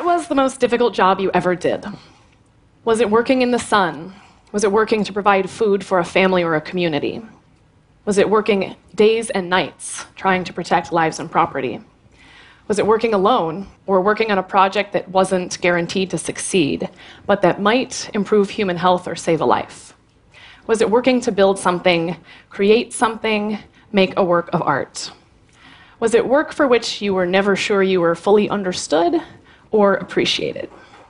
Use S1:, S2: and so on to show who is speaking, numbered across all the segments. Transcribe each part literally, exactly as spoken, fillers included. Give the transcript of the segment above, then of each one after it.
S1: What was the most difficult job you ever did? Was it working in the sun? Was it working to provide food for a family or a community? Was it working days and nights trying to protect lives and property? Was it working alone or working on a project that wasn't guaranteed to succeed, but that might improve human health or save a life? Was it working to build something, create something, make a work of art? Was it work for which you were never sure you were fully understood or appreciated?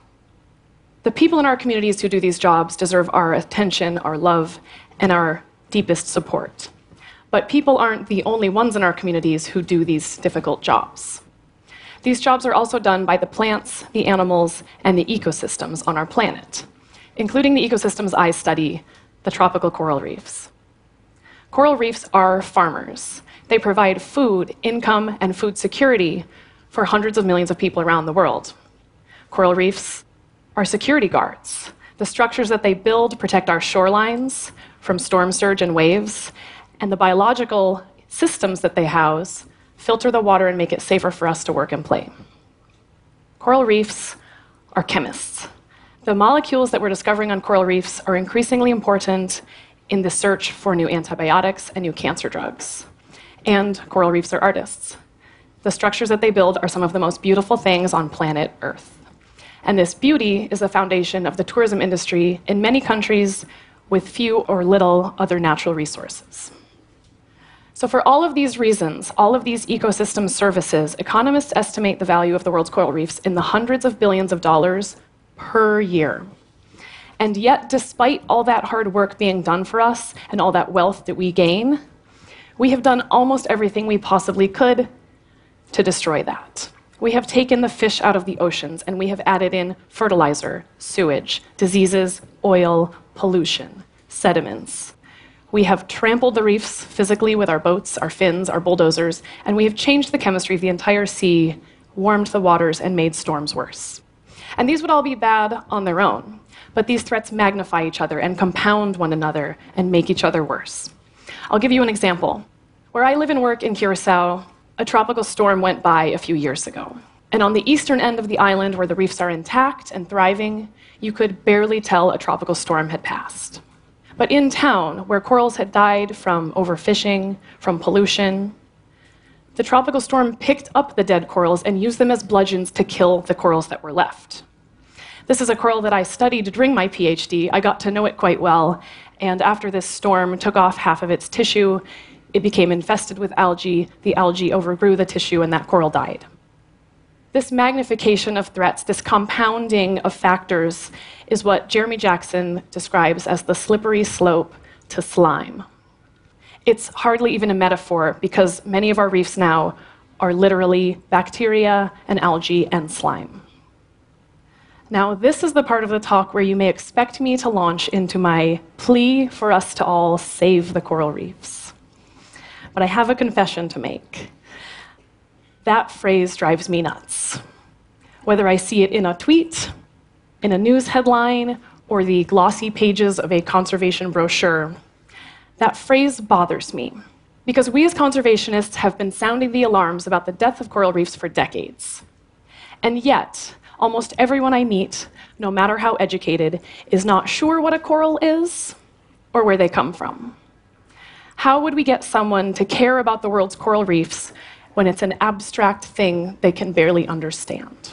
S1: The people in our communities who do these jobs deserve our attention, our love, and our deepest support. But people aren't the only ones in our communities who do these difficult jobs. These jobs are also done by the plants, the animals, and the ecosystems on our planet, including the ecosystems I study, the tropical coral reefs. Coral reefs are farmers. They provide food, income, and food security for hundreds of millions of people around the world. Coral reefs are security guards. The structures that they build protect our shorelines from storm surge and waves, and the biological systems that they house filter the water and make it safer for us to work and play. Coral reefs are chemists. The molecules that we're discovering on coral reefs are increasingly important in the search for new antibiotics and new cancer drugs. And coral reefs are artists. The structures that they build are some of the most beautiful things on planet Earth. And this beauty is the foundation of the tourism industry in many countries with few or little other natural resources. So for all of these reasons, all of these ecosystem services, economists estimate the value of the world's coral reefs in the hundreds of billions of dollars per year. And yet, despite all that hard work being done for us and all that wealth that we gain, we have done almost everything we possibly could to destroy that. We have taken the fish out of the oceans, and we have added in fertilizer, sewage, diseases, oil, pollution, sediments. We have trampled the reefs physically with our boats, our fins, our bulldozers, and we have changed the chemistry of the entire sea, warmed the waters, and made storms worse. And these would all be bad on their own, but these threats magnify each other and compound one another and make each other worse. I'll give you an example. Where I live and work in Curacao, a tropical storm went by a few years ago. And on the eastern end of the island, where the reefs are intact and thriving, you could barely tell a tropical storm had passed. But in town, where corals had died from overfishing, from pollution, the tropical storm picked up the dead corals and used them as bludgeons to kill the corals that were left. This is a coral that I studied during my PhD. I got to know it quite well, and after this storm took off half of its tissue, it became infested with algae. The algae overgrew the tissue, and that coral died. This magnification of threats, this compounding of factors, is what Jeremy Jackson describes as the slippery slope to slime. It's hardly even a metaphor, because many of our reefs now are literally bacteria and algae and slime. Now, this is the part of the talk where you may expect me to launch into my plea for us to all save the coral reefs. But I have a confession to make. That phrase drives me nuts. Whether I see it in a tweet, in a news headline, or the glossy pages of a conservation brochure, that phrase bothers me, because we as conservationists have been sounding the alarms about the death of coral reefs for decades. And yet, almost everyone I meet, no matter how educated, is not sure what a coral is or where they come from. How would we get someone to care about the world's coral reefs when it's an abstract thing they can barely understand?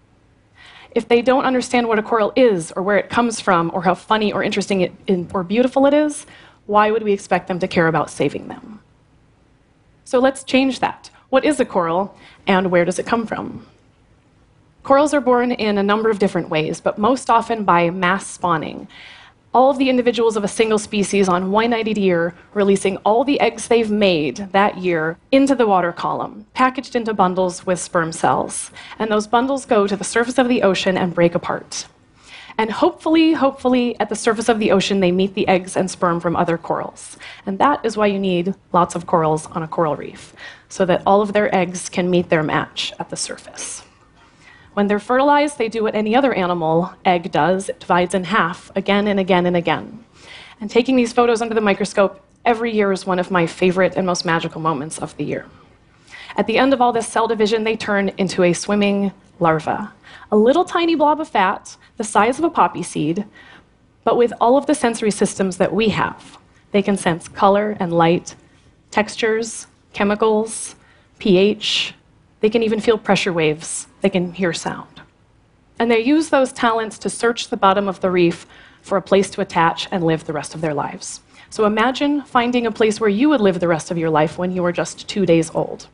S1: If they don't understand what a coral is, or where it comes from, or how funny or interesting it, or beautiful it is, why would we expect them to care about saving them? So let's change that. What is a coral, and where does it come from? Corals are born in a number of different ways, but most often by mass spawning. All of the individuals of a single species on one night a year releasing all the eggs they've made that year into the water column, packaged into bundles with sperm cells. And those bundles go to the surface of the ocean and break apart. And hopefully, hopefully, at the surface of the ocean, they meet the eggs and sperm from other corals. And that is why you need lots of corals on a coral reef, so that all of their eggs can meet their match at the surface. When they're fertilized, they do what any other animal egg does. It divides in half again and again and again. And taking these photos under the microscope every year is one of my favorite and most magical moments of the year. At the end of all this cell division, they turn into a swimming larva, a little tiny blob of fat the size of a poppy seed, but with all of the sensory systems that we have. They can sense color and light, textures, chemicals, pH. They can even feel pressure waves. They can hear sound. And they use those talents to search the bottom of the reef for a place to attach and live the rest of their lives. So imagine finding a place where you would live the rest of your life when you were just two days old.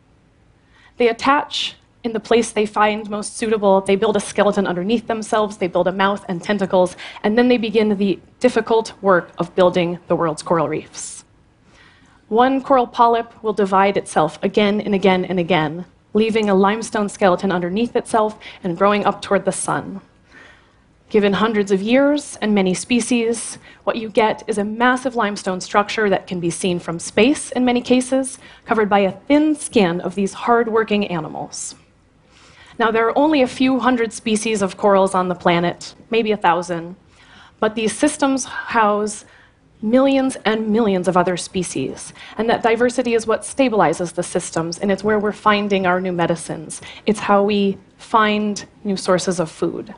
S1: They attach in the place they find most suitable. They build a skeleton underneath themselves. They build a mouth and tentacles. And then they begin the difficult work of building the world's coral reefs. One coral polyp will divide itself again and again and again, leaving a limestone skeleton underneath itself and growing up toward the sun. Given hundreds of years and many species, what you get is a massive limestone structure that can be seen from space in many cases, covered by a thin skin of these hard-working animals. Now, there are only a few hundred species of corals on the planet, maybe a thousand, but these systems house millions and millions of other species. And that diversity is what stabilizes the systems, and it's where we're finding our new medicines. It's how we find new sources of food.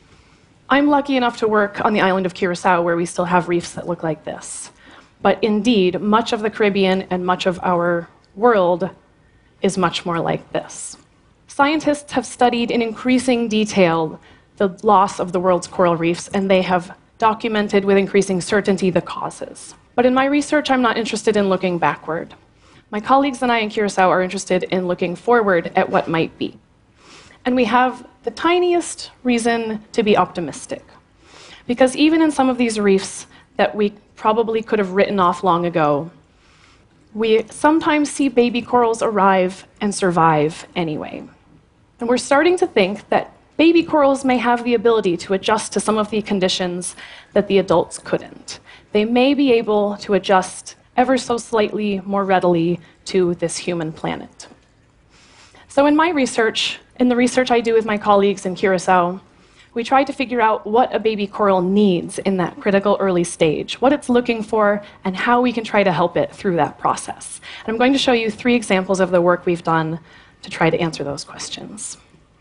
S1: I'm lucky enough to work on the island of Curacao, where we still have reefs that look like this. But indeed, much of the Caribbean and much of our world is much more like this. Scientists have studied in increasing detail the loss of the world's coral reefs, and they have documented with increasing certainty the causes. But in my research, I'm not interested in looking backward. My colleagues and I in Curacao are interested in looking forward at what might be. And we have the tiniest reason to be optimistic. Because even in some of these reefs that we probably could have written off long ago, we sometimes see baby corals arrive and survive anyway. And we're starting to think that baby corals may have the ability to adjust to some of the conditions that the adults couldn't. They may be able to adjust ever so slightly more readily to this human planet. So in my research, in the research I do with my colleagues in Curacao, we try to figure out what a baby coral needs in that critical early stage, what it's looking for, and how we can try to help it through that process. And I'm going to show you three examples of the work we've done to try to answer those questions.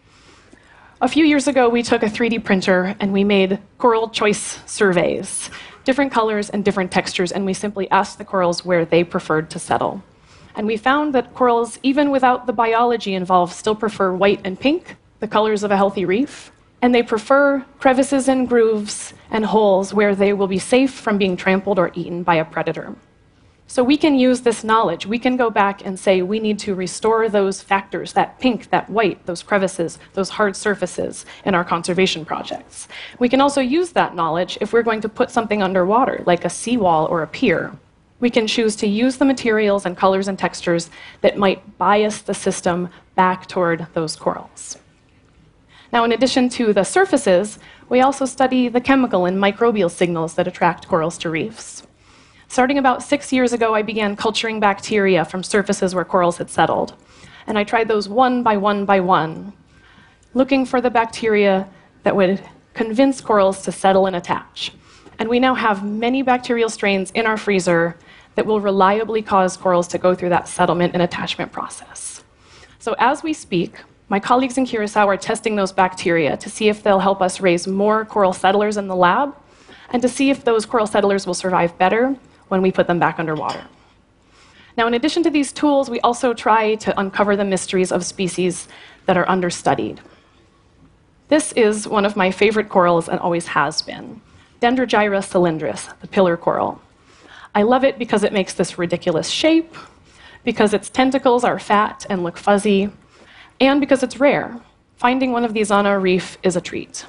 S1: A few years ago, we took a three D printer and we made coral choice surveys, different colors and different textures, and we simply asked the corals where they preferred to settle. And we found that corals, even without the biology involved, still prefer white and pink, the colors of a healthy reef, and they prefer crevices and grooves and holes where they will be safe from being trampled or eaten by a predator. So we can use this knowledge. We can go back and say we need to restore those factors, that pink, that white, those crevices, those hard surfaces in our conservation projects. We can also use that knowledge if we're going to put something underwater, like a seawall or a pier. We can choose to use the materials and colors and textures that might bias the system back toward those corals. Now, in addition to the surfaces, we also study the chemical and microbial signals that attract corals to reefs. Starting about six years ago, I began culturing bacteria from surfaces where corals had settled. And I tried those one by one by one, looking for the bacteria that would convince corals to settle and attach. And we now have many bacterial strains in our freezer that will reliably cause corals to go through that settlement and attachment process. So as we speak, my colleagues in Curacao are testing those bacteria to see if they'll help us raise more coral settlers in the lab, and to see if those coral settlers will survive better when we put them back underwater. Now, in addition to these tools, we also try to uncover the mysteries of species that are understudied. This is one of my favorite corals and always has been, Dendrogyra cylindris, the pillar coral. I love it because it makes this ridiculous shape, because its tentacles are fat and look fuzzy, and because it's rare. Finding one of these on our reef is a treat.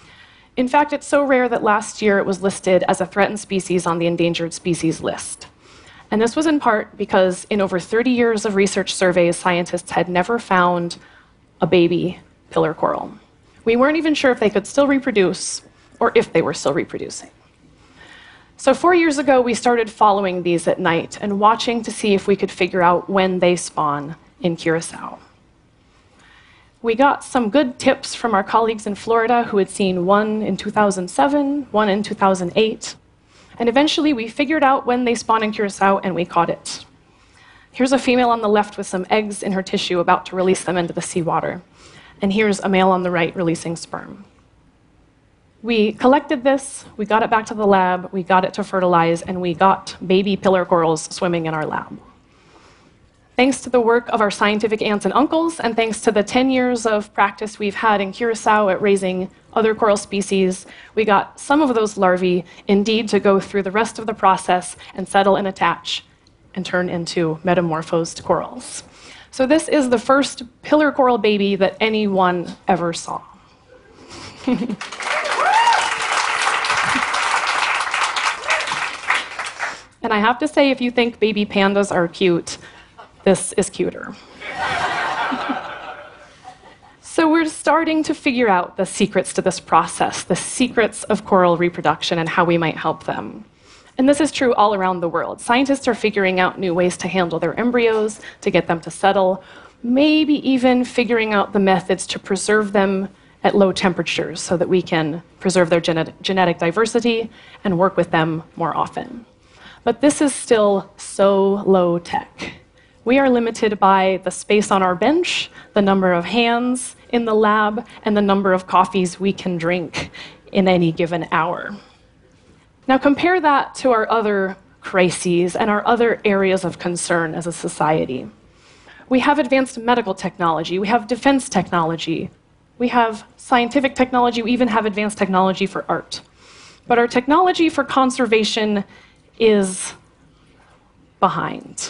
S1: In fact, it's so rare that last year it was listed as a threatened species on the endangered species list. And this was in part because in over thirty years of research surveys, scientists had never found a baby pillar coral. We weren't even sure if they could still reproduce or if they were still reproducing. So four years ago, we started following these at night and watching to see if we could figure out when they spawn in Curacao. We got some good tips from our colleagues in Florida who had seen one in two thousand seven, one in two thousand eight, and eventually we figured out when they spawn in Curacao and we caught it. Here's a female on the left with some eggs in her tissue about to release them into the seawater. And here's a male on the right releasing sperm. We collected this, we got it back to the lab, we got it to fertilize, and we got baby pillar corals swimming in our lab. Thanks to the work of our scientific aunts and uncles, and thanks to the ten years of practice we've had in Curacao at raising other coral species, we got some of those larvae indeed to go through the rest of the process and settle and attach and turn into metamorphosed corals. So this is the first pillar coral baby that anyone ever saw. And I have to say, if you think baby pandas are cute, this is cuter. So we're starting to figure out the secrets to this process, the secrets of coral reproduction and how we might help them. And this is true all around the world. Scientists are figuring out new ways to handle their embryos, to get them to settle, maybe even figuring out the methods to preserve them at low temperatures so that we can preserve their genet- genetic diversity and work with them more often. But this is still so low tech. We are limited by the space on our bench, the number of hands in the lab, and the number of coffees we can drink in any given hour. Now compare that to our other crises and our other areas of concern as a society. We have advanced medical technology, we have defense technology, we have scientific technology, we even have advanced technology for art. But our technology for conservation is behind.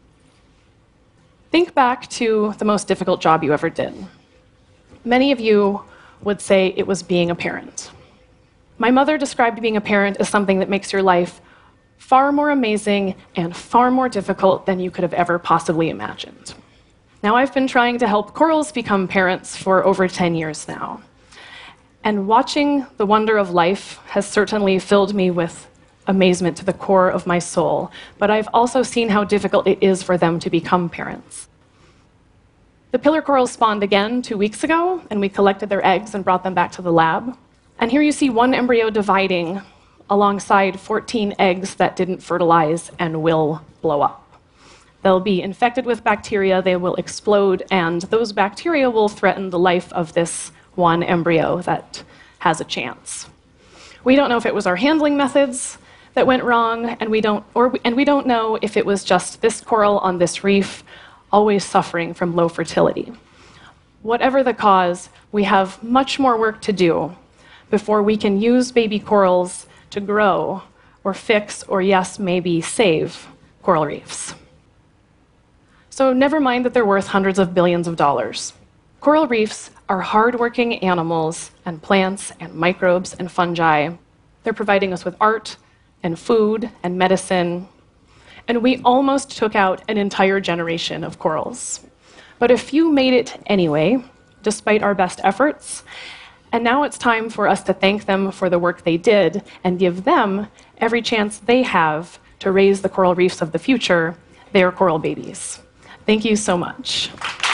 S1: Think back to the most difficult job you ever did. Many of you would say it was being a parent. My mother described being a parent as something that makes your life far more amazing and far more difficult than you could have ever possibly imagined. Now, I've been trying to help corals become parents for over ten years now. And watching the wonder of life has certainly filled me with amazement to the core of my soul, but I've also seen how difficult it is for them to become parents. The pillar corals spawned again two weeks ago, and we collected their eggs and brought them back to the lab. And here you see one embryo dividing alongside fourteen eggs that didn't fertilize and will blow up. They'll be infected with bacteria, they will explode, and those bacteria will threaten the life of this one embryo that has a chance. We don't know if it was our handling methods that went wrong, and we don't, or, and we don't know if it was just this coral on this reef always suffering from low fertility. Whatever the cause, we have much more work to do before we can use baby corals to grow or fix or, yes, maybe save coral reefs. So never mind that they're worth hundreds of billions of dollars. Coral reefs are hardworking animals and plants and microbes and fungi. They're providing us with art and food and medicine. And we almost took out an entire generation of corals. But a few made it anyway, despite our best efforts. And now it's time for us to thank them for the work they did and give them every chance they have to raise the coral reefs of the future, their coral babies. Thank you so much.